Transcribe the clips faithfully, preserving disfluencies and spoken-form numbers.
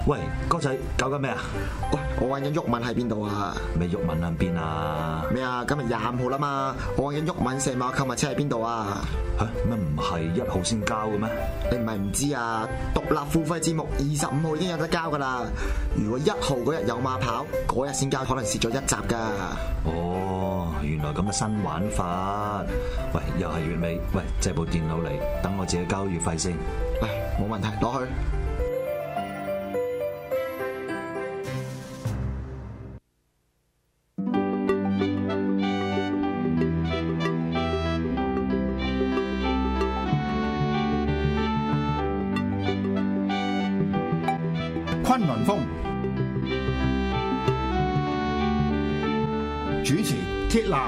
喂，哥仔搞緊咩啊？ 喂，我揾緊毓民喺邊度啊？ 咩毓民喺邊啊？ 咩啊？今日廿五號啦嘛，我揾緊毓民射馬購物車喺邊度啊？ 嚇乜唔係一號先交嘅咩？ 你唔係唔知啊？獨立付費節目二十五號已經有得交噶啦。如果一號嗰日有馬跑，嗰日先交，可能蝕咗一集噶。 哦，原來咁嘅新玩法。喂，又係月尾，喂，借部電腦嚟，等我自己交月費先。 喂，冇問題，攞去。 崑崙風主持鐵男，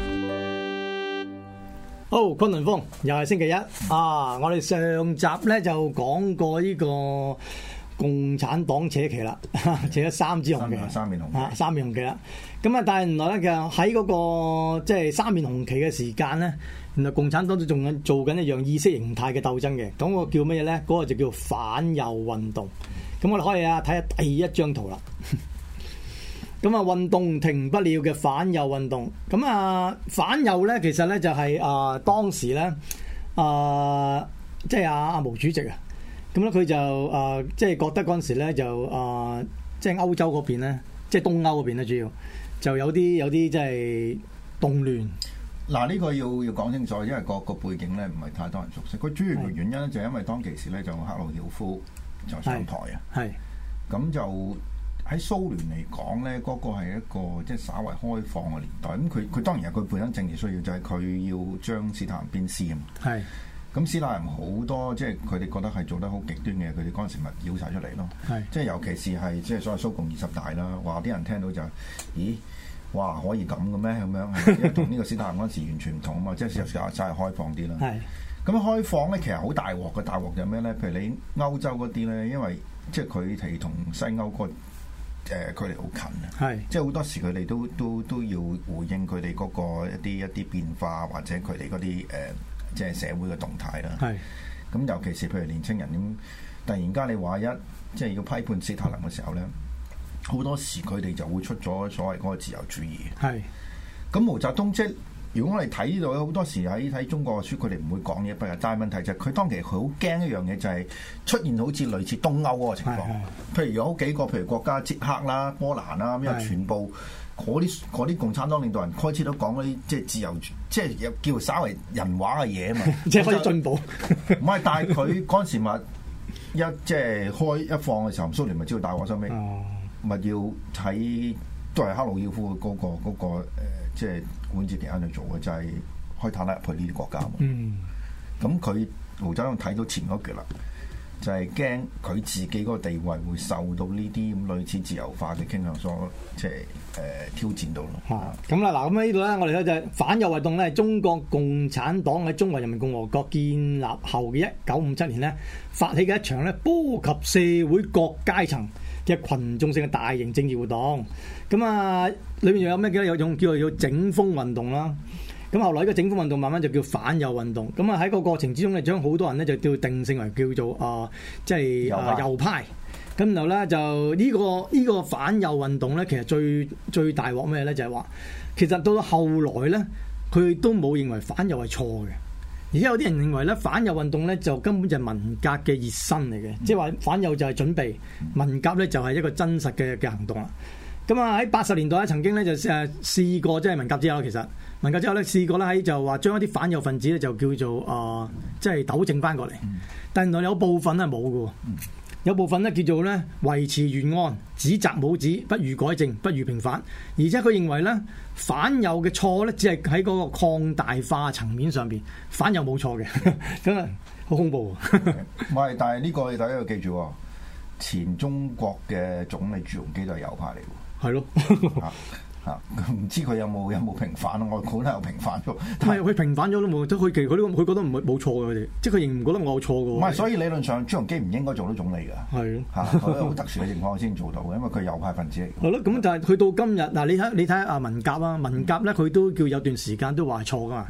好，崑崙風又係星期一啊！我哋上集咧就講過呢個共產黨扯旗啦，扯咗三支紅旗， 三面紅旗啊，三面紅旗啦。咁啊，但係原來咧，其實喺嗰個即係三面紅旗嘅時間咧，原來共產黨都仲緊做緊一樣意識形態嘅鬥爭嘅。咁個叫乜嘢咧？嗰個就叫反右運動。咁我哋可以啊睇下第一張圖啦。咁啊，運動停不了嘅反右運動。咁啊，反右咧，其實咧就係、是、啊、呃、當時咧啊，即係阿阿毛主席啊。咁咧佢就啊、呃，即係覺得嗰陣時咧就啊、呃，即係歐洲嗰邊咧，即係東歐嗰邊咧，主要就有啲有啲即係動亂。 嗱，呢個要要講清楚，因為個個背景咧唔係太多人熟悉。佢主要嘅原因咧就係因為當其時咧就赫魯曉夫就上台啊， 係咁就喺蘇聯嚟講咧，嗰、那個係一個即係稍為開放嘅年代。咁佢佢當然有佢本身政治需要，就係、是、佢要將斯大林鞭屍啊嘛。 係咁斯大林好多即係佢哋覺得係做得好極端嘅，佢哋嗰陣時咪繞晒出嚟咯。係即係尤其是係即係所謂蘇共二十大啦，話啲人聽到就咦，哇可以咁嘅咩咁樣？因為同呢個斯大林嗰陣時完全唔同啊嘛，即係事實上真係開放啲啦。係。咁開放咧，其實好大鑊嘅。大鑊就係咩咧？譬如你歐洲嗰啲咧，因為即係佢哋同西歐個誒距離好近啊，係即係好多時佢哋都都都要回應佢哋嗰個一啲一啲變化，或者佢哋嗰啲誒即係社會嘅動態啦。係咁，尤其是譬如年青人咁，突然間你話一即係要批判史太林嘅時候咧，好多時佢哋就會出咗所謂嗰個自由主義。係咁，毛澤東即係。如果我哋睇到好多時喺睇中國嘅書，佢哋唔會講嘢，不過但係問題就係佢當其實佢好驚一樣嘢，就係出現好似類似東歐嗰個情況。譬如有好幾個，譬如國家捷克啦、波蘭啦，因為全部嗰啲嗰啲共產黨領導人開始都講嗰啲即係自由，即係有叫稍為人話嘅嘢啊嘛， 即係可以進步。 唔係，但係佢嗰陣時咪一即係開一放嘅時候，蘇聯咪知道大鑊收尾，咪要睇都係赫魯曉夫嗰個嗰個誒即係。管治期間去做嘅就係、是、開坦克入去呢啲國家嘛。嗯，咁佢毛澤東睇到前嗰橛啦，就係驚佢自己嗰個地位會受到呢啲咁類似自由化嘅傾向所即係誒、呃、挑戰到咯。 嚇咁啦，嗱咁呢度咧，我哋咧就係反右運動咧，中國共產黨喺中華人民共和國建立後嘅一九五七年咧，發起嘅一場咧波及社會各階層嘅群眾性嘅大型政治活動。咁啊，裏面又有咩嘅？有種叫做叫整風運動啦。咁後來呢個整風運動慢慢就叫反右運動。咁啊喺個過程之中咧，將好多人咧就叫定性為叫做啊，即係啊右派。咁然後咧就呢個呢個反右運動咧，其實最最大鑊咩咧？就係話其實到後來咧，佢都冇認為反右係錯嘅。而且有啲人認為咧，反右運動咧就根本就係文革嘅熱身嚟嘅，即係話反右就係準備，文革咧就係一個真實嘅嘅行動啦。咁啊喺八十年代咧，曾經咧就誒試過，即係文革之後，其實文革之後咧試過咧喺就話將一啲反右分子咧就叫做啊，即係糾正翻過嚟。但原來有部分係冇嘅，有部分咧叫做咧維持原案，指責冇指，不予改正，不予平反。而且佢認為咧反右嘅錯咧只係喺嗰個擴大化層面上邊，反右冇錯嘅，咁啊好恐怖。 唔係，但係呢個大家要記住，前中國嘅總理朱鎔基都係右派嚟嘅。係咯，嚇唔知佢有冇有冇平反咯？我估都有平反咗， 唔係佢平反咗都冇，即係佢其佢呢個佢覺得唔係冇錯嘅佢哋，即係佢仍唔覺得我有錯嘅。 唔係，所以理論上朱鎔基唔應該做到總理㗎。係咯，嚇佢好特殊嘅情況先做到嘅，因為佢係右派分子嚟。 係咯，咁但係去到今日嗱，你睇你睇下啊文革啊，文革咧佢都叫有段時間都話係錯㗎嘛。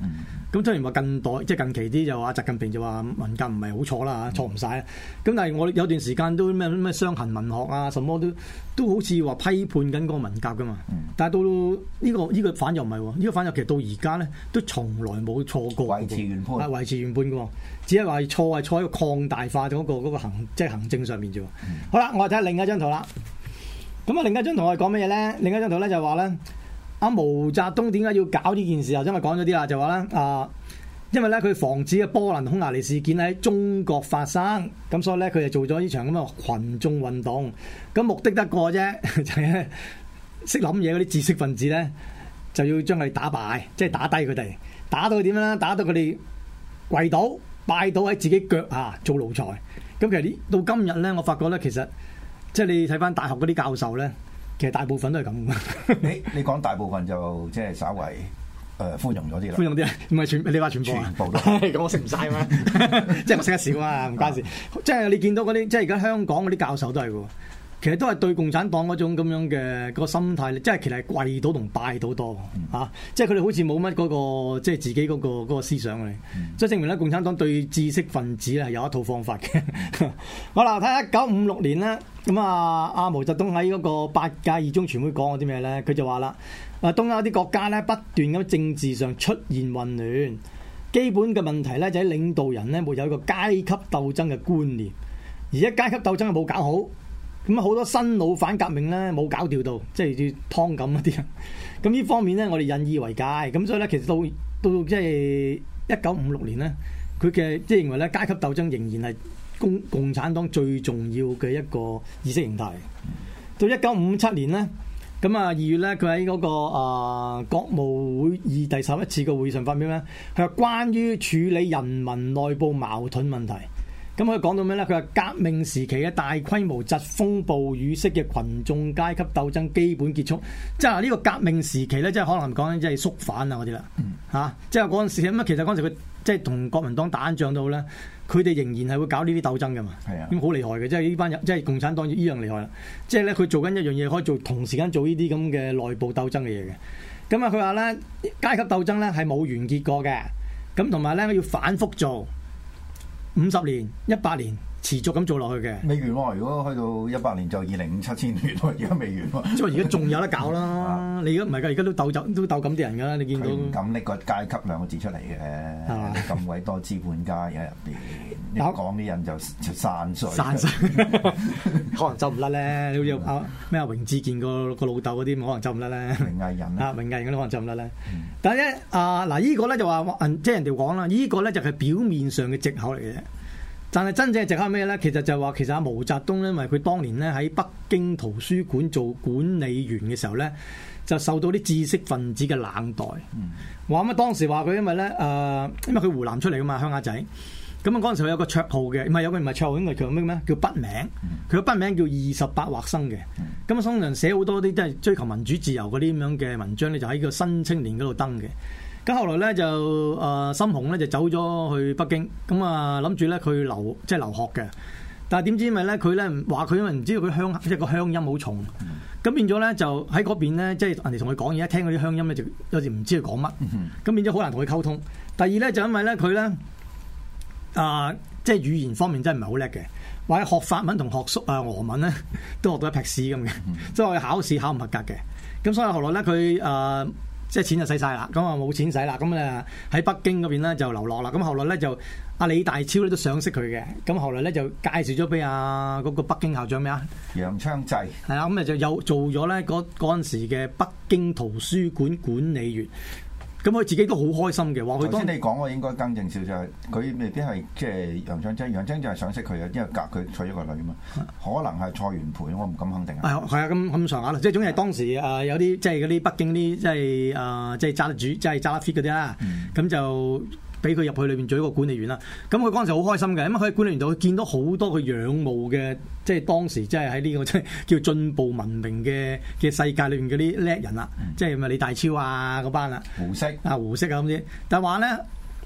咁雖然話近代即係近期啲就話習近平就話文革唔係好錯啦，錯唔晒啦。咁但係我有段時間都咩咩傷痕文學啊，什麼都都好似話批判緊嗰個文革噶嘛。嗯、但係到呢、呢個呢、呢個反又唔係喎，呢、呢個反又其實到而家咧都從來冇錯過， 維持原判， 係維持原判嘅喎，只係話錯係錯喺個擴大化嗰、嗰個嗰個行即係行政上面啫。嗯、好啦，我哋睇下另一張圖啦。咁啊，另一張圖我係講乜嘢咧？另一張圖咧就係話咧。阿毛澤東點解要搞呢件事啊？因為講咗啲啦，就話咧啊，因為咧佢防止嘅波蘭匈牙利事件喺中國發生，咁所以咧佢就做咗呢場咁嘅群眾運動。咁目的得個啫，就係識諗嘢嗰啲知識分子咧，就要將佢打敗，即係打低佢哋，打到佢點樣咧？打到佢哋跪倒、拜倒喺自己腳下做奴才。咁其實到今日咧，我發覺咧，其實即係你睇翻大學嗰啲教授咧。其實大部分都係咁嘅。你你講大部分就即係稍為誒寬容咗啲啦。寬容啲啊，唔係全你話全部啊？ 全部都咁我識唔晒嘛？即係我識得少啊，唔關事。即係你見到嗰啲，即係而家香港嗰啲教授都係喎。其實都係對共產黨嗰種咁樣嘅個心態，即係其實係跪倒同拜倒多嚇、嗯啊。即係佢哋好似冇乜嗰個即係自己嗰、嗰個嗰個思想嚟。即係、嗯、證明咧，共產黨對知識分子咧係有一套方法嘅。好啦，睇下一九五六年咧，咁啊，阿毛澤東喺嗰個八屆二中全會講過啲咩咧？佢就話啦：啊，東歐啲國家咧不斷咁政治上出現混亂，基本嘅問題咧就喺領導人咧沒有一個階級鬥爭嘅觀念，而家階級鬥爭係冇搞好。咁好多新老反革命咧冇搞掉到，即係要湯咁一啲人。咁呢方面咧，我哋引以為戒。咁所以咧，其實到到即係一九五六年咧，佢嘅即係認為咧階級鬥爭仍然係共共產黨最重要嘅一個意識形態。到一九五七年咧，咁啊二月咧，佢喺嗰個啊、呃、國務會議第十一次嘅會議上發表咧，佢話關於處理人民內部矛盾問題。咁佢講到咩咧？佢話革命時期嘅大規模疾風暴雨式嘅群眾階級鬥爭基本結束，即係呢個革命時期咧，即係可能講緊即係肅反啊嗰啲啦，嚇！即係嗰陣時咁啊，其實嗰陣時佢即係同國民黨打仗到咧，佢哋仍然係會搞呢啲鬥爭噶嘛，咁好厲害嘅，即係呢班人即係共產黨依樣厲害啦，即係咧佢做緊一樣嘢，可以做同時間做呢啲咁嘅內部鬥爭嘅嘢嘅。咁啊，佢話咧階級鬥爭咧係冇完結過嘅，咁同埋咧要反覆做。五十年、一百年持續咁做落去嘅， 未完喎。如果去到一百年就二零五七千年喎，而家未完喎。 即係而家仲有得搞啦！你而家唔係㗎，而家都鬥就都鬥咁啲人㗎啦。你見到佢唔敢拎個階級兩個字出嚟嘅，咁鬼多資本家喺入邊，一講啲人就就散水。散水， 可能走唔甩咧。你好似阿咩阿榮志健個個老豆嗰啲，可能走唔甩咧。 榮毅人啊，榮毅人嗰啲可能走唔甩咧。但係咧啊嗱，依個咧就話即係人哋講啦，依個咧就係表面上嘅藉口嚟嘅。但係真正嘅藉口係咩咧？其實就係話，其實阿毛澤東咧，因為佢當年咧喺北京圖書館做管理員嘅時候咧，就受到啲知識分子嘅冷待。話咁啊，當時話佢因為咧誒、呃，因為佢湖南出嚟噶嘛，鄉下仔。咁啊嗰陣時佢有個綽號嘅，唔係有個唔係綽號，應該叫咩咩？叫筆名。佢個筆名叫二十八畫生嘅。咁啊，通常寫好多啲即係追求民主自由嗰啲咁樣嘅文章咧，就喺個新青年嗰度登嘅。咁後來咧就誒森洪咧就走咗去北京，咁啊諗住咧佢留即係留學嘅，但係點知因為咧佢咧話佢因為唔知道佢鄉即係個鄉音好重，咁、嗯、變咗咧就喺嗰邊咧即係人哋同佢講嘢，一聽嗰啲鄉音咧就有時唔知佢講乜，咁、嗯、變咗好難同佢溝通。第二咧就因為咧佢咧啊即係語言方面真係唔係好叻嘅，或者學法文同學蘇啊俄文咧都學到一劈屎咁嘅，即係我考試考唔合格嘅。咁所以後來咧佢誒。即係錢就使晒啦，咁啊冇錢使啦，咁啊喺北京嗰邊咧就流落啦。咁後來咧就阿李大釗咧都賞識佢嘅，咁後來咧就介紹咗俾阿嗰個北京校長咩啊？ 楊昌濟係啊，咁啊就有做咗咧嗰嗰陣時嘅北京圖書館管理員。咁佢自己都好開心嘅，話佢當先你講我應該更正少少，佢未必係即係楊昌濟，楊昌濟係賞識佢嘅，因為隔佢娶咗個女嘛，可能係蔡元培，我唔敢肯定啊。 係啊，咁咁上下啦，即係總之係當時誒、呃、有啲即係嗰啲北京啲即係誒即係揸得主，即係揸得 fit 嗰啲啦，咁、嗯、就俾佢入去裏邊做一個管理員啦。咁佢嗰陣時好開心嘅，因為佢喺管理員度佢見到好多佢仰慕嘅，即係當時即係喺呢個即係叫進步文明嘅嘅世界裏邊嗰啲叻人啦，嗯、即係咪李大釗啊嗰班啦， 胡適啊胡適啊咁啲，但係話咧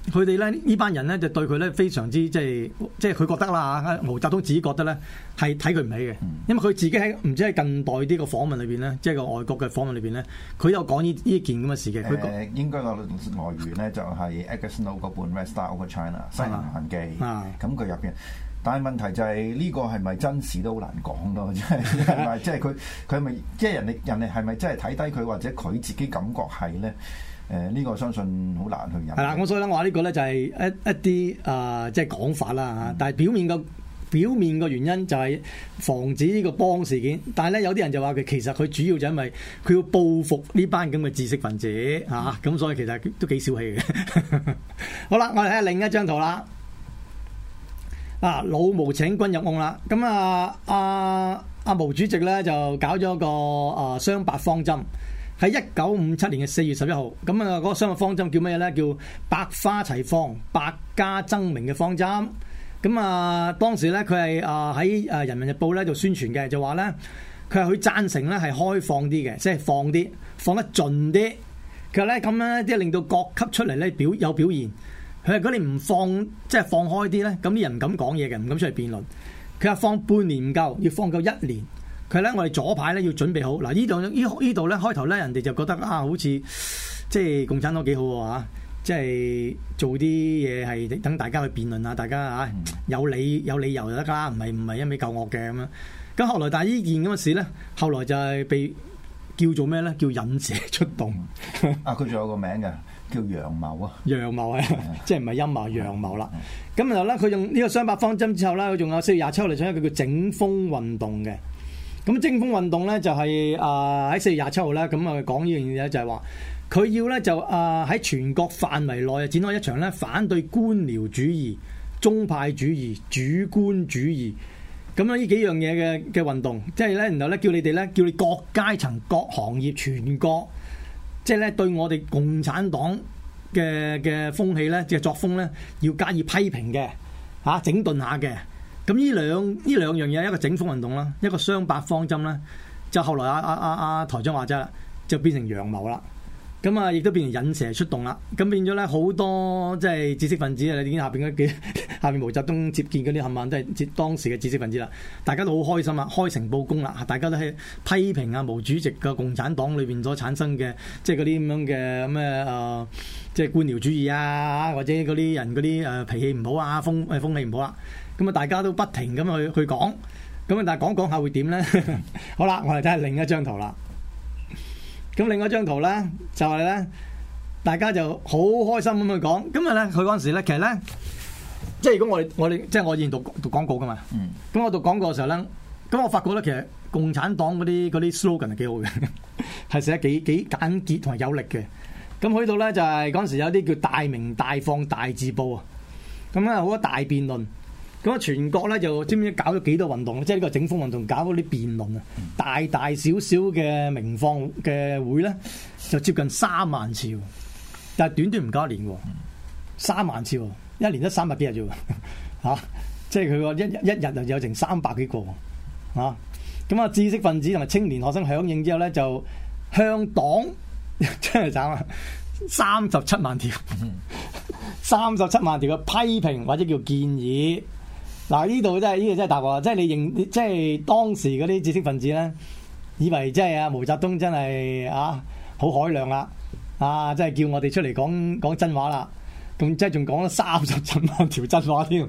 佢哋咧呢班人咧就對佢咧非常之即係即係佢覺得啦嚇，毛澤東自己覺得咧係睇佢唔起嘅，因為佢自己喺唔知喺近代啲個訪問裏邊咧，即係個外國嘅訪問裏邊咧，佢有講呢呢件咁嘅事嘅。佢誒應該個來源咧就係 Edgar Snow 嗰本《Red Star Over China》西南行記，咁佢入邊。但係問題就係呢個係咪真事都好難講咯，即係係咪即係佢佢咪即係人哋人哋係咪真係睇低佢，或者佢自己感覺係咧？誒、呃、呢、這個相信好難去引。係啦， 咁所以咧，我話呢個咧就係一一啲啊，即係講法啦嚇。但係表面個表面個原因就係防止呢個幫事件。但係咧有啲人就話佢其實佢主要就因為佢要報復呢班咁嘅知識分子嚇，咁、啊、所以其實都幾小氣嘅。好啦，我哋睇下另一張圖啦。啊！老毛請軍入甕啦，咁啊，阿阿毛主席咧就搞咗個啊雙八方針，喺一九五七年嘅四月十一號，咁啊嗰個雙八方針叫咩咧？叫百花齊放、百家爭鳴嘅方針。咁啊，當時咧佢係啊喺啊《人民日報》咧就宣傳嘅，就話咧佢係佢贊成咧係開放啲嘅，即係放啲放得盡啲。佢話咧咁樣咧，即係令到各級出嚟咧表有表現。佢話：如果你唔放，即係放開啲咧，咁啲人唔敢講嘢嘅，唔敢出嚟辯論。佢話放半年唔夠，要放夠一年。佢咧，我哋左派咧要準備好。嗱，呢度呢呢度咧開頭咧，人哋就覺得啊，好似即係共產黨幾好喎嚇，即係做啲嘢係等大家去辯論啊，大家啊有理有理由就得㗎，唔係唔係一味救惡嘅咁樣。咁後來但係呢件咁嘅事咧，後來就係被叫做咩咧？叫引蛇出洞。 啊，佢仲有個名嘅。叫陽謀啊， 陽謀係，即係唔係陰謀，陽謀啦。咁然後咧，佢用呢個雙八方針之後咧，佢仲有四月廿七號嚟做一個叫整風運動嘅。咁整風運動咧就係啊喺四月廿七號咧，咁啊講呢樣嘢就係話，佢要咧就啊喺全國範圍內展開一場咧反對官僚主義、宗派主義、主觀主義咁樣呢幾樣嘢嘅嘅運動，即係咧，然後咧叫你哋咧，叫你各階層、各行業、全國。即係咧，對我哋共產黨嘅嘅風氣咧，即係作風咧，要加以批評嘅，嚇、啊、整頓下嘅。咁呢兩呢兩樣嘢，一個整風運動啦，一個雙八方針啦，就後來阿阿阿阿台長話齋啦，就變成陽謀啦。咁啊，亦都變成引蛇出洞啦。咁變咗咧，好多即係知識分子啊！你見下邊嗰幾下邊毛澤東接見嗰啲冚唪唥都係當時嘅知識分子啦。大家都好開心啊，開誠佈公啦，大家都係批評啊毛主席嘅共產黨裏邊所產生嘅即係嗰啲咁樣嘅咩誒，即係官僚主義啊，或者嗰啲人嗰啲誒脾氣唔好啊，風誒風氣唔好啦。咁啊，大家都不停咁去去講。咁啊，但係講講下會點咧？好啦，我哋睇下另一張圖啦。咁另外一張圖咧，就係、是、咧，大家就好開心咁去講。咁啊咧，佢嗰陣時咧，其實咧，即係如果我哋我哋即係我以前讀讀廣告噶嘛。嗯。咁我讀廣告嘅時候咧，咁我發覺咧，其實共產黨嗰啲嗰啲 slogan 係幾好嘅，係寫得幾幾簡潔同埋有力嘅。咁去到咧就係嗰陣時有啲叫大鳴大放大字報啊。咁咧好多大辯論。咁啊，全國咧就知唔知搞咗幾多運動？即係呢個整風運動搞嗰啲辯論啊，大大小小嘅鳴放嘅會咧，就接近三萬次，但係短短唔夠一年喎，三萬次，一年得三百幾日啫喎，嚇！即係佢個一一日就有成三百幾個，嚇！咁啊，知識分子同埋青年學生響應之後咧，就向黨真係慘啊，三十七萬條，三十七萬條嘅批評或者叫建議。嗱，呢度真係呢個真係大鑊，即係你認，即係當時嗰啲知識分子咧，以為即係啊毛澤東真係啊好海量啦，啊即係叫我哋出嚟講講真話啦，咁即係仲講咗三十七萬條真話添。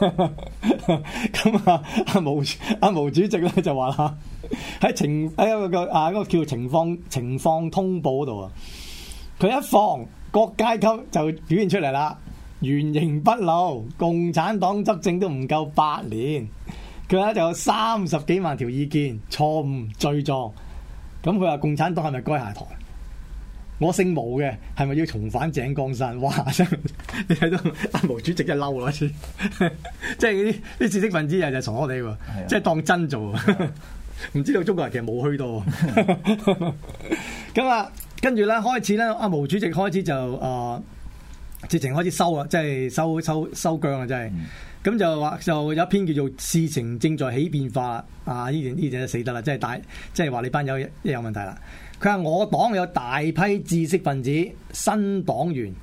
咁啊阿毛阿毛主席咧就話啦，喺情喺一個啊嗰個叫情況情況通報嗰度啊，佢一放各階級就表現出嚟啦。原形畢露，共產黨執政都唔夠八年，佢咧就有三十幾萬條意見，錯誤罪狀。咁佢話共產黨係咪該下台？我姓毛嘅，係咪要重返井岡山？哇！真係你睇到阿毛主席真係嬲啦，即係啲啲知識分子又就傻我哋喎，即係當真做，唔知道中國人其實冇去到。咁啊，跟住咧開始咧，阿毛主席開始就誒。呃直情開始收啊，即係收收收姜啊，真係。咁、嗯、就話就有一篇叫做事情正在起變化啊！呢段呢段就死得啦，即係大，即係話你班友有問題啦。佢話我黨有大批知識分子、新黨員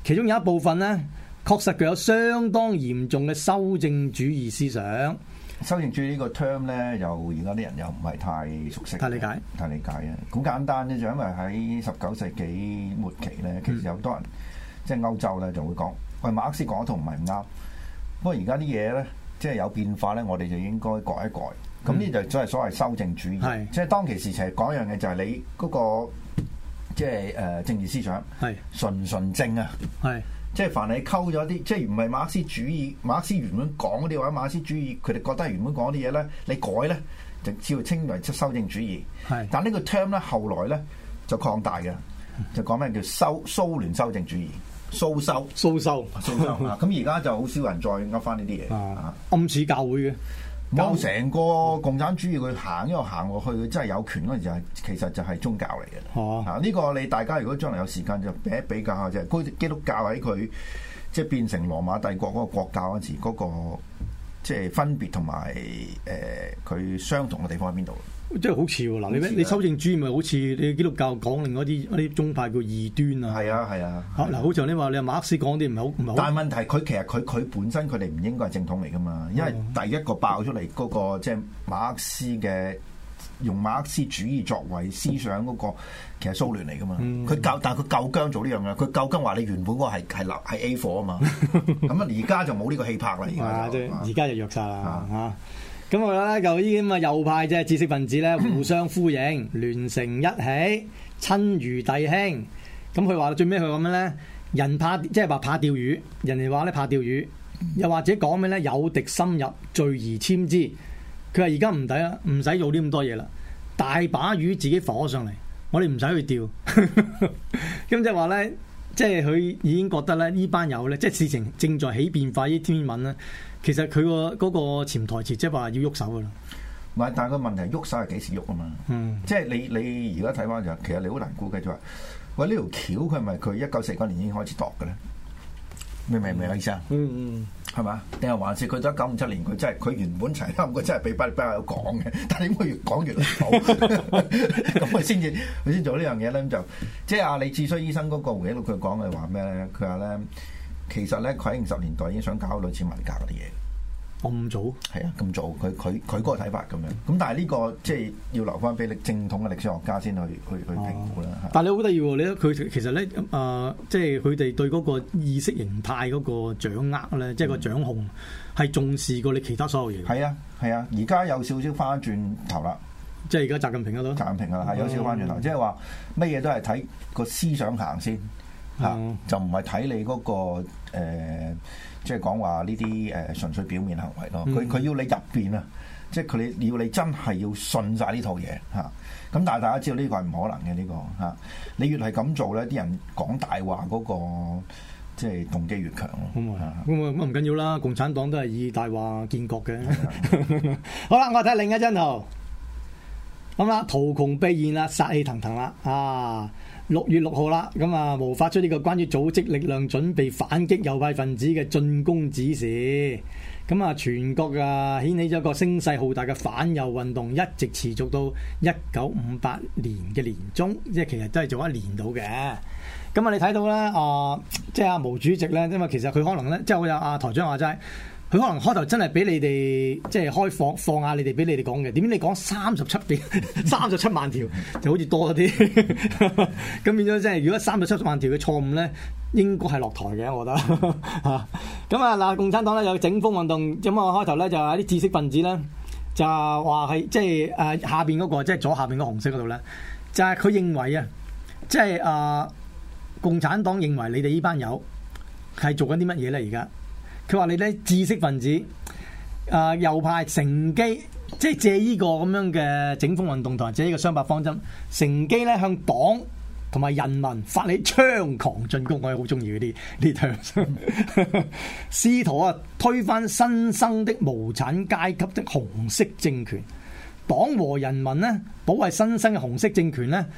其中有一部分咧，確實具有相當嚴重嘅修正主義思想。 修正主義呢個 term 咧，又而家啲人又唔係太熟悉， 太理解， 太理解嘅。好簡單啫，就因為喺十九世紀末期咧，其實有好多人、嗯、即係歐洲咧就會講，喂，馬克思講一套唔係唔啱。不過而家啲嘢咧，即係有變化咧，我哋就應該改一改。咁呢、嗯、就真係所謂修正主義，是即係當其時其實講一樣嘢就係你嗰、那個即係誒、呃、政治思想係純純正啊，係。即係凡你溝咗啲，即係唔係馬克思主義，馬克思原本講嗰啲或者馬克思主義，佢哋覺得原本講啲嘢咧，你改咧就只會稱為修正主義。係是，但呢個 term 咧後來咧就擴大嘅，就講咩叫修蘇聯修正主義，蘇修蘇修蘇修啊！咁而家就好少人再噏翻呢啲嘢啊， 暗指教會嘅。 冇成個共產主義佢行一路行落去，佢真係有權嗰陣時係其實就係宗教嚟嘅。哦、啊，呢、呢個你大家如果將來有時間就比一比較下啫。基督教喺佢即係變成羅馬帝國嗰個國教嗰陣時，嗰、嗰個即係分別同埋誒佢相同嘅地方喺邊度？ 即係好似喎，嗱你你修正主義咪好似你基督教講另外一啲啲宗派叫異端啊？係啊係啊， 嗱好似你話你馬克思講啲唔係好唔係好， 但係問題佢其實佢佢本身佢哋唔應該係正統嚟噶嘛，因為第一個爆出嚟嗰、嗰個即係馬克思嘅用馬克思主義作為思想嗰、嗰個，其實蘇聯嚟噶嘛，佢夠、嗯、但係佢夠姜做呢樣嘢，佢夠姜話你原本嗰個係係流係 A 貨啊嘛，咁啊而家就冇呢個氣魄啦，而家就而家就弱晒啦嚇。咁我覺得咧，就呢啲咁嘅右派即係知識分子咧，互相呼應，聯成一起，親如弟兄。咁佢話最尾佢講咩咧？人怕即係話怕釣魚，人哋話咧怕釣魚，又或者講咩咧？有敵深入，聚而殲之。佢話而家唔抵啦，唔使做啲咁多嘢啦，大把魚自己浮上嚟，我哋唔使去釣。咁即係話咧，即係佢已經覺得咧，呢班友咧，即係事情正在起變化，呢天文咧。其實佢個嗰個潛台詞即係話要喐手噶啦， 唔係，但係個問題喐手係幾時喐啊嘛？嗯，即係你你而家睇翻就，其實你好難估計就話，喂呢條橋佢係咪佢一九四九年已經開始度嘅咧？明唔明明我意思啊？嗯嗯，係嘛？定係還是佢到一九五七年佢真係佢原本齊啱佢真係俾巴比有講嘅，但係點解越講越離譜？咁佢先至佢先做呢樣嘢咧，就即係阿李志綏醫生嗰個回憶錄佢講嘅話咩咧？佢話咧。其實咧，佢喺五十年代已經想搞類似文革嗰啲嘢。 咁早？係啊，咁早。佢佢佢嗰個睇法咁樣。咁但係呢個即係要留翻俾你正統嘅歷史學家先去去去評估啦。 啊、但係你好得意喎！你佢其實咧，誒、呃，即係佢哋對嗰個意識形態嗰個掌握咧，即係個掌控係重視過你其他所有嘢。 係啊，係啊，而家有少少翻轉頭啦。 即係而家習近平嗰度。 習近平啊，係有少少翻轉頭，即係話乜嘢都係睇個思想行先。嚇、嗯，就唔係睇你嗰、那個、呃、即係講話呢啲誒純粹表面行為咯。佢佢、嗯、要你入邊啊，即係佢你要你真係要信晒呢套嘢嚇。咁、啊、但係大家知道呢個係唔可能嘅呢、這個嚇、啊。你越係咁做咧，啲人講大話嗰個即係動機越強咯。咁啊咁啊唔緊要啦，共產黨都係以大話建國嘅。好啦，我睇另一張圖。咁啦，圖窮匕現啦，殺氣騰騰啦啊！六月六號啦，咁啊，毛發出呢個關於組織力量準備反擊右派分子嘅進攻指示。咁啊，全國啊掀起咗一個聲勢浩大嘅反右運動，一直持續到一九五八年嘅年中，即係其實都係做一年到嘅。咁啊，你睇到咧啊，即係阿毛主席咧，因為其實佢可能咧，即係好有阿台長話齋。佢可能開頭真係俾你哋即係開放放下你哋俾你哋講嘅，點知你講三十七遍三十七萬條就好似多啲，咁變咗即係如果三十七萬條嘅錯誤咧，應該係落台嘅，我覺得嚇。咁啊嗱，共產黨咧有整風運動，咁啊開頭咧就係啲知識分子咧就話係即係誒下邊嗰個即係左下邊嗰紅色嗰度咧，就係佢認為啊，即係誒共產黨認為你哋呢班友係做緊啲乜嘢咧而家？佢話你咧知識分子，誒、呃、右派乘機，即係借呢個咁樣嘅整風運動同埋借呢個雙百方針，乘機咧向黨同埋人民發起猖狂進攻。我係好中意嗰啲呢條，試圖啊推翻新生的無產階級的紅色政權。黨和人民呢保衛新生嘅紅色政權呢，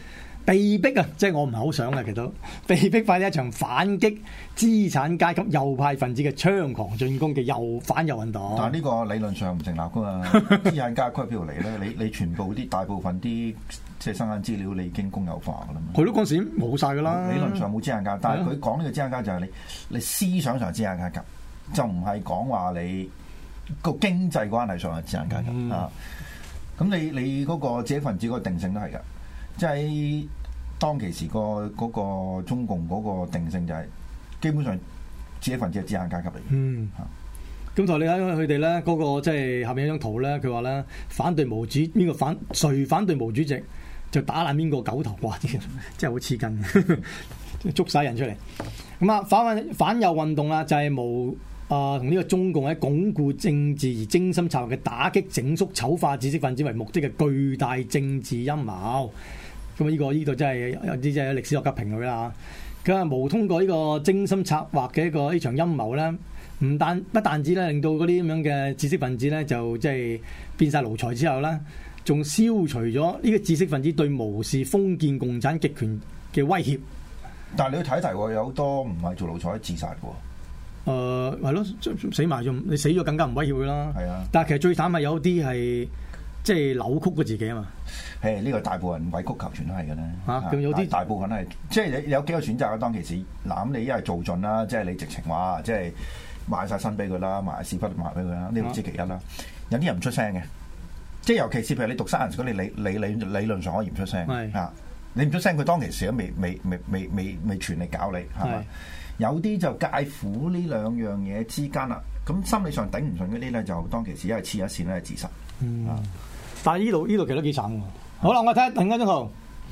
被逼啊，即係我唔係好想嘅，其實都被逼發起一場反擊資產階級右派分子嘅猖狂進攻嘅右反右運動。 但係呢個理論上唔成立噶嘛？資產階級邊度嚟咧？你你全部啲大部分啲即係生產資料，你已經公有化噶啦嘛？ 佢都嗰陣時冇晒噶啦。 理論上冇資產階級，但係佢講呢個資產階級就係你你思想上資產階級，就唔係講話你個經濟關係上嘅資產階級、嗯、啊。咁你你嗰個知識分子嗰個定性都係㗎，即係當其時個嗰個中共嗰個定性就係基本上知識分子係資產階級嚟嘅。嗯， 咁同你睇佢哋咧嗰個即係下面一張圖咧，佢話咧反對毛主邊個反誰反對毛主席就打爛邊個狗頭，哇！啲真係好黐筋，捉晒人出嚟。咁啊反反右運動啊，就係無。啊，同呢個中共喺鞏固政治而精心策劃嘅打擊整肅醜化知識分子為目的嘅巨大政治陰謀。咁啊，呢個呢度真係有啲即係歷史學家評論啦。佢話無通過呢個精心策劃嘅一個呢場陰謀咧，唔但不但止咧令到嗰啲咁樣嘅知識分子咧就即係變晒奴才之後咧，仲消除咗呢個知識分子對無視封建共產極權嘅威脅。 但係你要睇一睇，有好多唔係做奴才自殺嘅。 誒係咯，死埋仲你死咗更加唔威脅佢啦。係啊，但係其實最慘係有啲係即係扭曲咗自己啊嘛。誒，呢個大部分委曲求全都係嘅咧。嚇、啊，咁有啲大部分係即係你有幾個選擇啊？當其時嗱，咁你一係做盡啦，即係你直情話即係賣晒身俾佢啦，賣屎忽賣俾佢啦，呢個之其一啦。啊、有啲人唔出聲嘅，即係尤其是譬如你讀 science 嗰啲，你你理理理論上可以唔出聲嚇，你唔出聲，佢當其時都未未未未未未全力搞你係嘛？有啲就介乎呢兩樣嘢之間啦，咁心理上頂唔順嗰啲咧，就當其時一係黐一線咧，係自殺。嗯，啊、 但係呢度呢度其實都幾慘喎。好啦，我睇下另一張圖。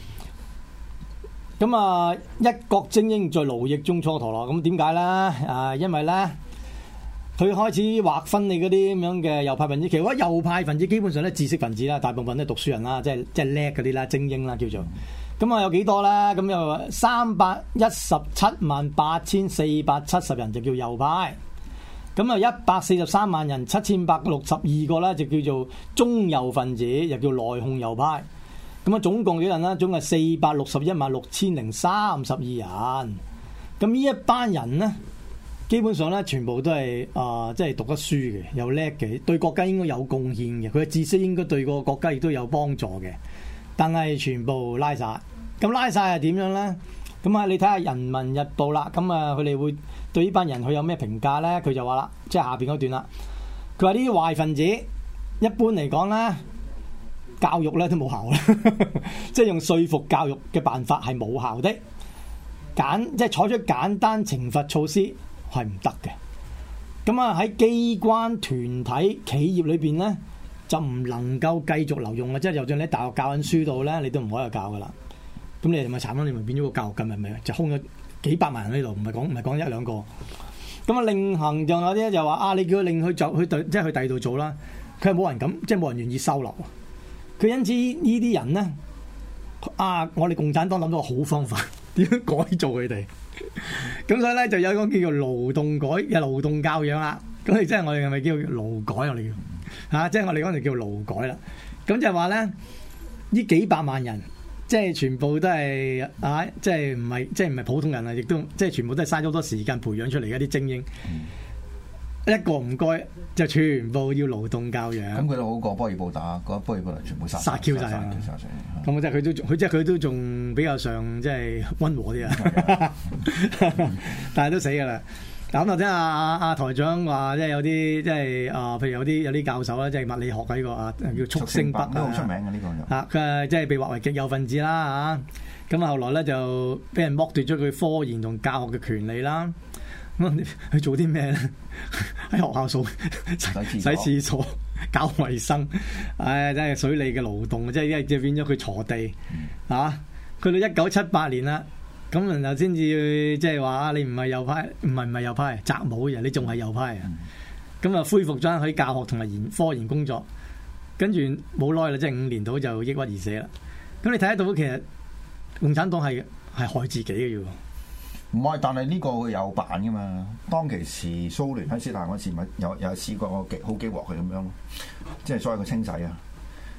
咁啊，一國精英在奴役中蹉跎咯。咁點解咧？啊，因為咧，佢開始劃分你嗰啲咁樣嘅右派分子。其實右派分子基本上咧，知識分子啦，大部分都係讀書人啦，即係即係叻嗰啲啦，精英啦叫做。咁啊有幾多咧？咁又三百一十七萬八千四百七十人就叫右派，咁啊一百四十三萬人七千百六十二個咧就叫做中右分子，又叫內訌右派。咁啊總共幾人咧？總係四百六十一萬六千零三十二人。咁呢一班人咧，基本上咧全部都係啊，即係讀得書嘅，又叻嘅，對國家應該有貢獻嘅，佢嘅知識應該對個國家亦都有幫助嘅。但係全部拉晒，咁拉晒係點樣咧？咁啊，你睇下《人民日報》啦，咁啊，佢哋會對呢班人佢有咩評價咧？佢就話啦，即係下邊嗰段啦。佢話呢啲壞分子一般嚟講咧，教育咧都冇效啦，即係用說服教育嘅辦法係冇效的，簡即係採取簡單懲罰措施係唔得嘅。咁啊喺機關、團體、企業裏邊咧，就唔能夠繼續留用嘅，即係就算你喺大學教緊書度咧，你都唔可以教噶啦。咁你哋咪慘咯，你咪變咗個教育界咪咪就空咗幾百萬人喺度，唔係講唔係講一兩個。咁啊，另行仲有啲就話啊，你叫佢另去做去即係去第二度做啦，佢係冇人敢，即係冇人願意收留。佢因此呢啲人咧，啊，我哋共產黨諗到個好方法，點樣改造佢哋？咁所以咧就有一個叫做勞動改嘅勞動教養啦。咁你即係我哋係咪叫勞改我哋叫？嚇、啊！即係我哋嗰陣叫勞改啦，咁就係話咧，呢幾百萬人，即係全部都係啊！即係唔係即係唔係普通人啊？亦都即係全部都係嘥咗好多時間培養出嚟嘅一啲精英，嗯、一個唔該就全部要勞動教養。咁佢都好過波爾布打，嗰波爾布全部殺殺 Q 晒啊！咁即係佢都佢即係佢都仲比較上即係溫和啲啊，但係都死㗎啦。咁頭先阿阿阿台長話，即係有啲即係啊，譬如有啲有啲教授啦，即係物理學嘅呢個啊，叫速星北，都好出名嘅呢個。啊，佢即係被劃為極右分子啦嚇。咁啊，後來咧就俾人剝奪咗佢科研同教學嘅權利啦。咁佢做啲咩咧？喺學校掃洗廁所、搞衞生，唉，真係水利嘅勞動，即係即係變咗佢鋤地嚇。去到一九七八年啦。咁然後先至即係話你唔係右派，唔係唔係右派，習武嘅，你仲係右派啊！咁啊、嗯、恢復咗喺教學同埋研科研工作，跟住冇耐啦，即係五年到就抑鬱而死啦。咁你睇得到其實共產黨係係害自己嘅啫喎。唔係，但係呢個佢有辦噶嘛？當其時蘇聯喺斯大林嗰時咪有有試過個極好幾鑊佢咁樣咯，即係所謂嘅清洗啊！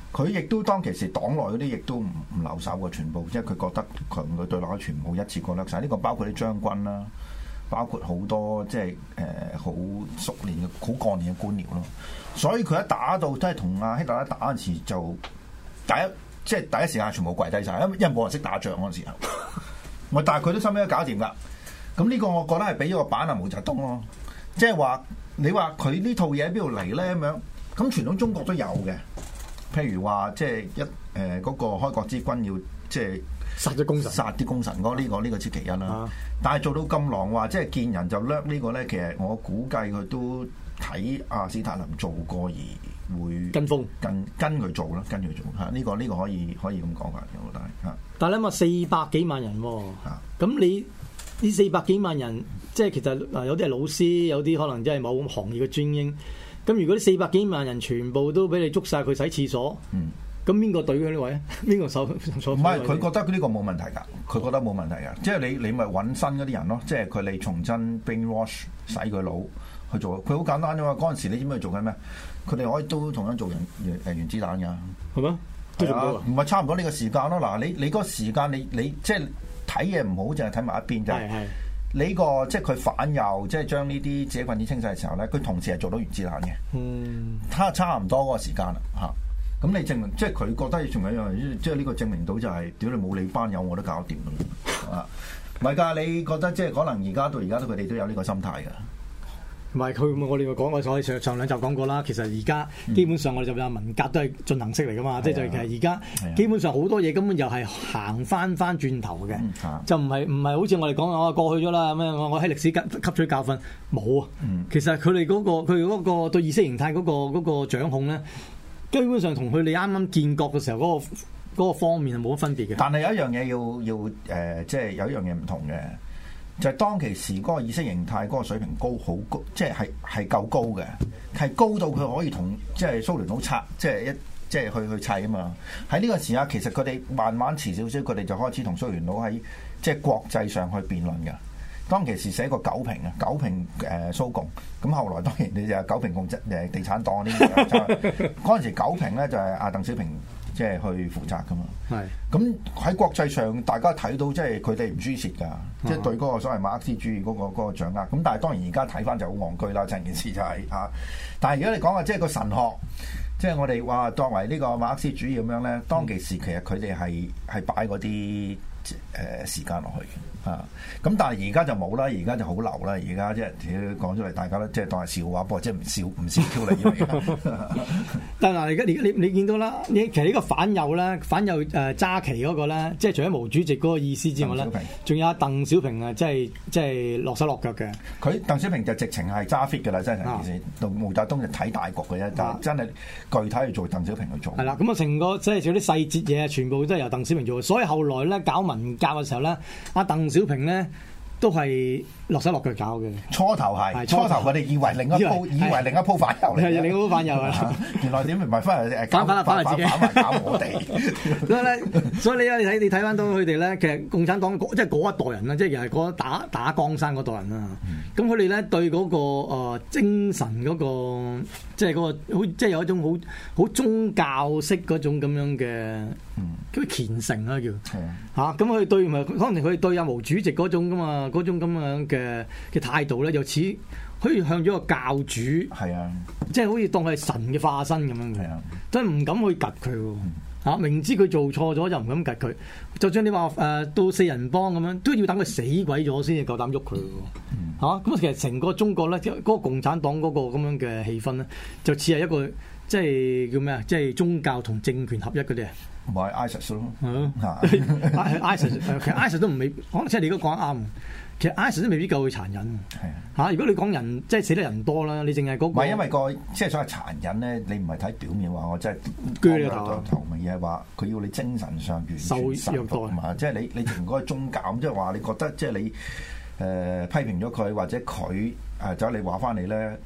佢亦都當其時黨內嗰啲亦都唔唔留守嘅，全部即係佢覺得強嘅對立全部一次過掠晒。呢個包括啲將軍啦，包括好多即係誒好熟練嘅好幹練嘅官僚咯。所以佢一打到都係同阿希特拉打嗰陣時，就第一即係第一時間全部跪低晒，因為因為冇人識打仗嗰陣時候。我但係佢都收尾都搞掂㗎。咁呢個我覺得係俾咗個板啊毛澤東咯，即係話你話佢呢套嘢喺邊度嚟咧咁樣？咁傳統中國都有嘅。譬如話，即係一誒嗰、呃那個開國之君要即係殺咗功臣， 殺啲功臣嗰呢、這個呢、這個之其一啦。 啊、 但係做到咁狼話，即係見人就掠呢個咧，其實我估計佢都睇阿史太林做過而會跟風跟跟佢做啦，跟佢做嚇。呢、這個呢、這個可以可以咁講法嘅，我覺得係嚇。 但係你諗下四百幾萬人喎、啊，咁、啊、你呢四百幾萬人，即係其實嗱有啲係老師，有啲可能真係某行業嘅精英。咁如果啲四百幾萬人全部都俾你捉晒佢洗廁所，咁邊個對佢呢位啊？邊個手手？唔係佢覺得呢個冇問題㗎，佢覺得冇問題㗎。即係你你咪揾新嗰啲人咯，即係佢你重新 brainwash 洗佢腦去做。佢好簡單啫嘛。嗰陣時你知唔知佢做緊咩？佢哋可以都同樣做原誒原子彈㗎。係咩？都做到啊？唔係差唔多呢個時間咯。嗱，你你嗰個時間你你即係睇嘢唔好，淨係睇埋一邊就係。你個即係佢反右，即係將呢啲自己分子清洗嘅時候咧，佢同時係做到原子彈嘅。嗯，差差唔多嗰個時間啦，嚇、啊。咁你證明即係佢覺得仲有一樣，即係呢個證明到就係、是，屌你冇你班友我都搞掂㗎啦，啊，唔係㗎？你覺得即係可能而家到而家都佢哋都有呢個心態㗎。唔係佢，我哋講過，我上上兩集講過啦。其實而家基本上我哋就話文革都係進行式嚟噶嘛，即係、嗯、就其實而家基本上好多嘢根本又係行翻翻轉頭嘅，嗯、就唔係唔係好似我哋講我過去咗啦，咁樣我我喺歷史吸吸取教訓冇啊。嗯、其實佢哋嗰個佢嗰個對意識形態嗰、嗰個嗰、嗰個掌控咧，基本上同佢哋啱啱建國嘅時候嗰、嗰個嗰個方面係冇乜分別嘅。 但係有一樣嘢要要誒、呃，即係有一樣嘢唔同嘅。就係當其時嗰個意識形態嗰個水平高好高，即係係係夠高嘅，係高到佢可以同即係蘇聯佬拆，即係一即係去去砌啊嘛。喺呢個時刻，其實佢哋慢慢遲少少，佢哋就開始同蘇聯佬喺即係國際上去辯論嘅。當其時寫個九評啊，九評誒蘇共，咁後來當然你就係九評共誒地產黨呢啲。嗰陣時九評咧就係阿鄧小平即係去負責噶嘛。係咁喺國際上，大家睇到即係佢哋唔輸蝕㗎，即係對嗰個所謂馬克思主義嗰個嗰個掌握。咁但係當然而家睇翻就好戇居啦，成件事就係嚇。但係如果你講話即係個神學，即係我哋話當為呢個馬克思主義咁樣咧，當其時其實佢哋係係擺嗰啲誒時間落去嘅嚇。咁但係而家就冇啦，而家就好流啦。而家即係講出嚟，大家都即係當係笑話，不過即係唔笑唔笑 Q 你嚟。 但係嗱，而家而家你你見到啦，你其實呢個反右咧，反右誒揸旗嗰個咧，即係除咗毛主席嗰個意思之外咧，仲有阿鄧小平啊，即係即係落手落腳嘅。佢鄧小平就直情係揸 fit 㗎啦，真係成件事。到毛澤東就睇大局嘅啫，但係真係具體去做鄧小平去做。係啦，咁啊成個即係做啲細節嘢，全部都係由鄧小平做。所以後來咧搞文革嘅時候咧，阿鄧小平咧都係落手落腳搞嘅。初頭係，初頭我哋以為另一鋪，以為另一鋪反右嚟，係另一鋪反右啊！原來點唔係翻嚟誒反反反嚟自己反埋搞我哋。所以咧，所以你啊，你睇你睇翻到佢哋咧，其實共產黨即係嗰一代人啦，即係又係嗰打打江山嗰代人啦。咁佢哋咧對嗰個誒精神嗰個，即係嗰個好，即係有一種好好宗教式嗰種咁樣嘅，叫虔誠啦叫嚇。咁佢對咪可能佢對阿毛主席嗰種咁啊嗰種咁樣嘅嘅態度咧，又似可以向咗個教主，係啊，即係好似當佢係神嘅化身咁樣嘅，真係唔敢去及佢喎嚇。明知佢做錯咗就唔敢及佢，就算你話誒、呃、到四人幫咁樣，都要等佢死鬼咗先至夠膽喐佢喎嚇。咁其實成個中國咧，嗰、嗰個共產黨嗰個咁樣嘅氣氛咧，就似係一個即係叫咩啊？即係宗教同政權合一嗰啲啊。唔係 ISIS 咯，係 ISIS 其實 ISIS 都唔未，可能即係你都講得啱。其實 ISIS 都未必夠佢殘忍嚇、啊。如果你講人即係死得人多啦，你淨係嗰個唔係因為個即係所謂殘忍咧，你唔係睇表面話我真係鋸你頭頭咪而係話佢要你精神上完全受虐待嘛。即係你你同嗰個宗教，即係話你覺得即係你誒、呃、批評咗佢或者佢誒走你話翻你咧，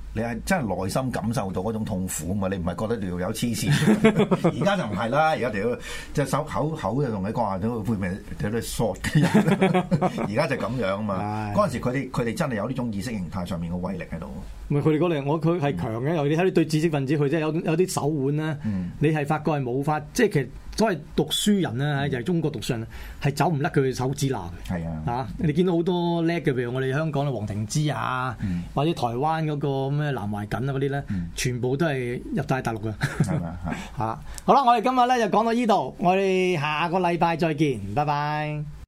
你係真係內心感受到嗰種痛苦啊嘛！你唔係覺得條友黐線，而家就唔係啦，而家條隻手口口就同你講話，都會唔會有啲索嘅人？而家就咁樣啊嘛！嗰陣時佢哋佢哋真係有呢種意識形態上面嘅威力喺度。 唔係佢哋嗰嚟，我佢係強嘅，尤其你睇你對知識分子，佢真係有有啲手腕啦。嗯、你係發覺係冇法，即係其實所謂讀書人咧，就係、是、中國讀書人係走唔甩佢嘅手指罅嘅。係啊，嚇你見到好多叻嘅，譬如我哋香港嘅黃庭之啊，嗯、或者台灣嗰個咩南懷瑾啊嗰啲咧，嗯、全部都係入晒大陸嘅。係嘛嚇？好啦，我哋今日咧就講到呢度，我哋下個禮拜再見，拜拜。